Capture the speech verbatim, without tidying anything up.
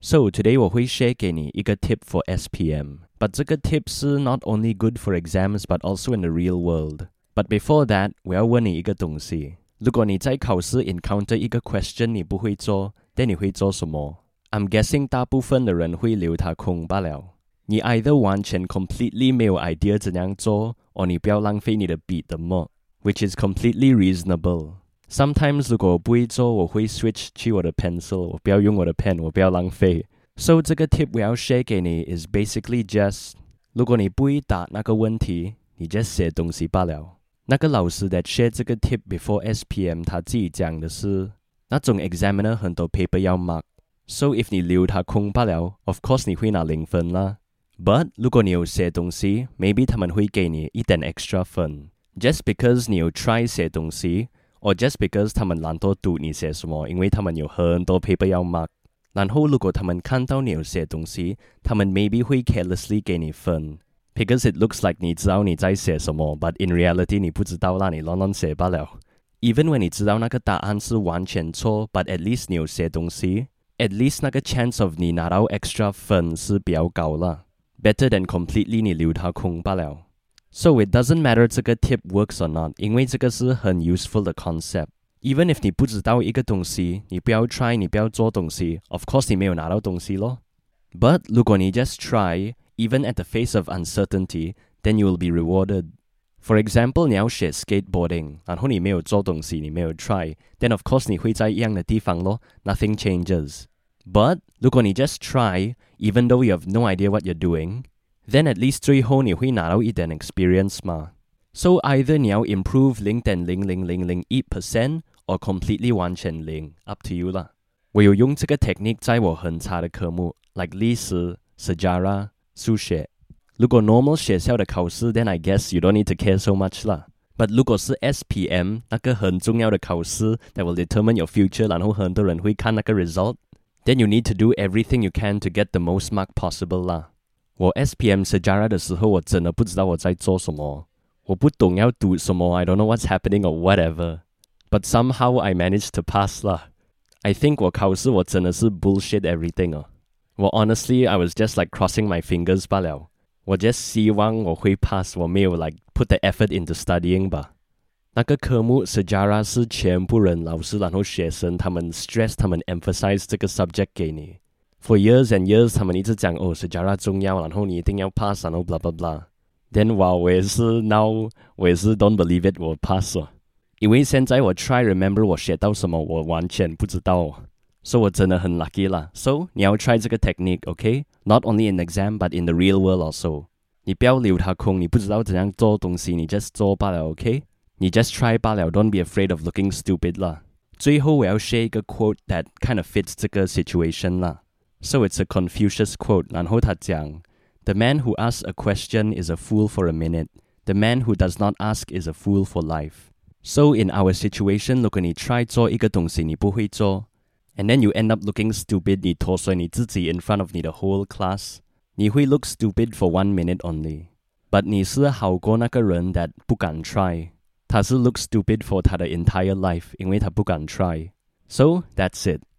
So today 我会 share 给你一个 tip for S P M. But 这个 tip 是 not only good for exams but also in the real world. But before that, 我要问你一个东西。如果你在考试 encounter 一个 question 你不会做 then 你会做什么？ I'm guessing 大部分的人会留它空罢了。你 either 完全 completely 没有 idea 怎样做 or 你不要浪费你的笔的墨 which is completely reasonable. Sometimes 如果我不会做我会 switch 去我的 pencil 我不要用我的 pen 我不要浪费。So 这个 tip 我要 share 给你 is basically just 如果你不会答那个问题你 just 写东西罢了。那个老师 that share 这个 tip before S P M 他自己讲的是那种 examiner 很多 paper 要 mark So if 你留它空罢了 of course 你会拿零分啦。But 如果你有写东西 maybe 他们会给你一点 extra 分 Just because 你有 try 写东西 or just because 他们懒惰读你写什么因为他们有很多 paper 要 mark 然后如果他们看到你有写东西他们 maybe 会 carelessly 给你分 Because it looks like 你知道你在写什么 but in reality 你不知道啦你乱乱写罢了 Even when 你知道那个答案是完全错 but at least 你有写东西 At least 那个 chance of 你拿到 extra 分是比较高啦 Better than completely 你留它空罢了 So it doesn't matter 这个 tip works or not 因为这个是很 useful 的 concept Even if 你不知道一个东西你不要 try 你不要做东西 Of course 你没有拿到东西咯 But 如果你 just try Even at the face of uncertainty Then you will be rewarded For example 你要学 skateboarding 然后你没有做东西你没有 try Then of course 你会在一样的地方咯 Nothing changes But 如果你 just try Even though you have no idea what you're doing Then at least 最后你会拿到一点 experience 嘛 So either 你要 improve zero point zero zero zero zero one percent Or completely 完全零 Up to you 啦我有用这个 technique 在我很差的科目 Like 历史 Sejarah 数学如果 normal 学校的考试 Then I guess you don't need to care so much 啦 But 如果是 S P M 那个很重要的考试 That will determine your future 然后很多人会看那个 result Then you need to do everything you can to get the most mark possible 啦我 S P M Sejarah 的时候我真的不知道我在做什么我不懂要读什么 I don't know what's happening or whatever But somehow I managed to pass 啦 I think 我考试我真的是 bullshit everything 哦我 honestly I was just like crossing my fingers 罢了我 just 希望我会 pass 我没有 like put the effort into studying 吧那个科目 Sejarah 是全部人老师然后学生他们 stress 他们 emphasize 这个 subject 给你 For years and years 他们一直讲哦 Sejarah 重要然后你一定要 pass 然后 blah blah blah Then 哇我也是 now 我也是 don't believe it 我 pass 了因为现在我 try remember 我学到什么我完全不知道So 我真的很 lucky 啦 So 你要 try 这个 technique okay Not only in exam but in the real world also 你不要留它空你不知道怎样做东西你 just 做罢了 okay你 just try 罢了 Don't be afraid of looking stupid 啦最后我要 share 一个 quote that kind of fits 这个 situation 啦 So it's a Confucius quote 然后他讲 The man who asks a question is a fool for a minute The man who does not ask is a fool for life So in our situation 如果你 try 做一个东西你不会做And then you end up looking stupid 你脱水你自己 in front of 你的 whole class 你会 look stupid for one minute only But 你是好过那个人 that 不敢 try 他是 look stupid for 他的 entire life 因为他不敢 try So that's it